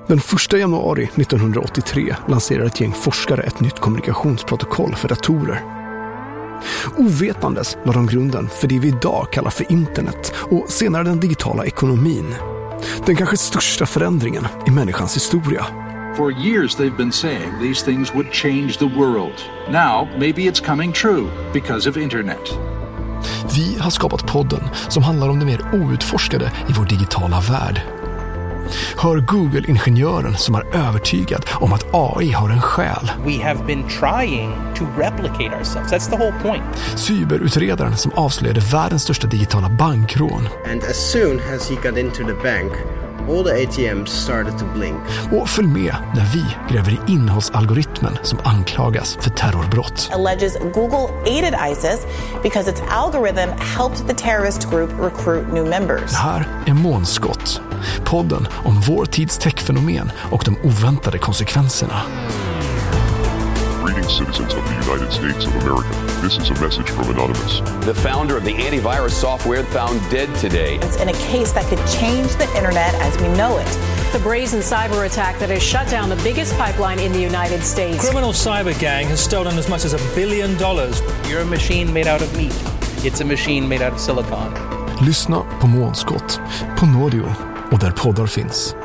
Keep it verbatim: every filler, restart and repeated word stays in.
Den första januari nittonhundraåttiotre lanserar ett gäng forskare ett nytt kommunikationsprotokoll för datorer. Ovetandes la de grunden för det vi idag kallar för internet och senare den digitala ekonomin. Den kanske största förändringen i människans historia. For years they've been saying these things would change the world. Now maybe it's coming true because of internet. Vi har skapat podden som handlar om det mer outforskade i vår digitala värld. Hör Google-ingenjören som är övertygad om att A I har en själ. We have been trying to replicate ourselves. That's the whole point. Cyberutredaren som avslöjade världens största digitala bankrån. And as soon as he got into the bank, all the A T Ms started to blink. Och följ med när vi gräver i innehållsalgoritmen som anklagas för terrorbrott. Alleges Google aided ISIS because its algorithm helped the terrorist group recruit new members. Det här är Månskott, podden om vår tids techfenomen och de oväntade konsekvenserna. Greetings, citizens of the United States of America. This is a message from Anonymous. The founder of the antivirus software found dead today. It's in a case that could change the internet as we know it. The brazen cyber attack that has shut down the biggest pipeline in the United States. Criminal cyber gang has stolen as much as a billion dollars. You're a machine made out of meat. It's a machine made out of silicon. Lyssna på Månskott, på Nådio och där poddar finns.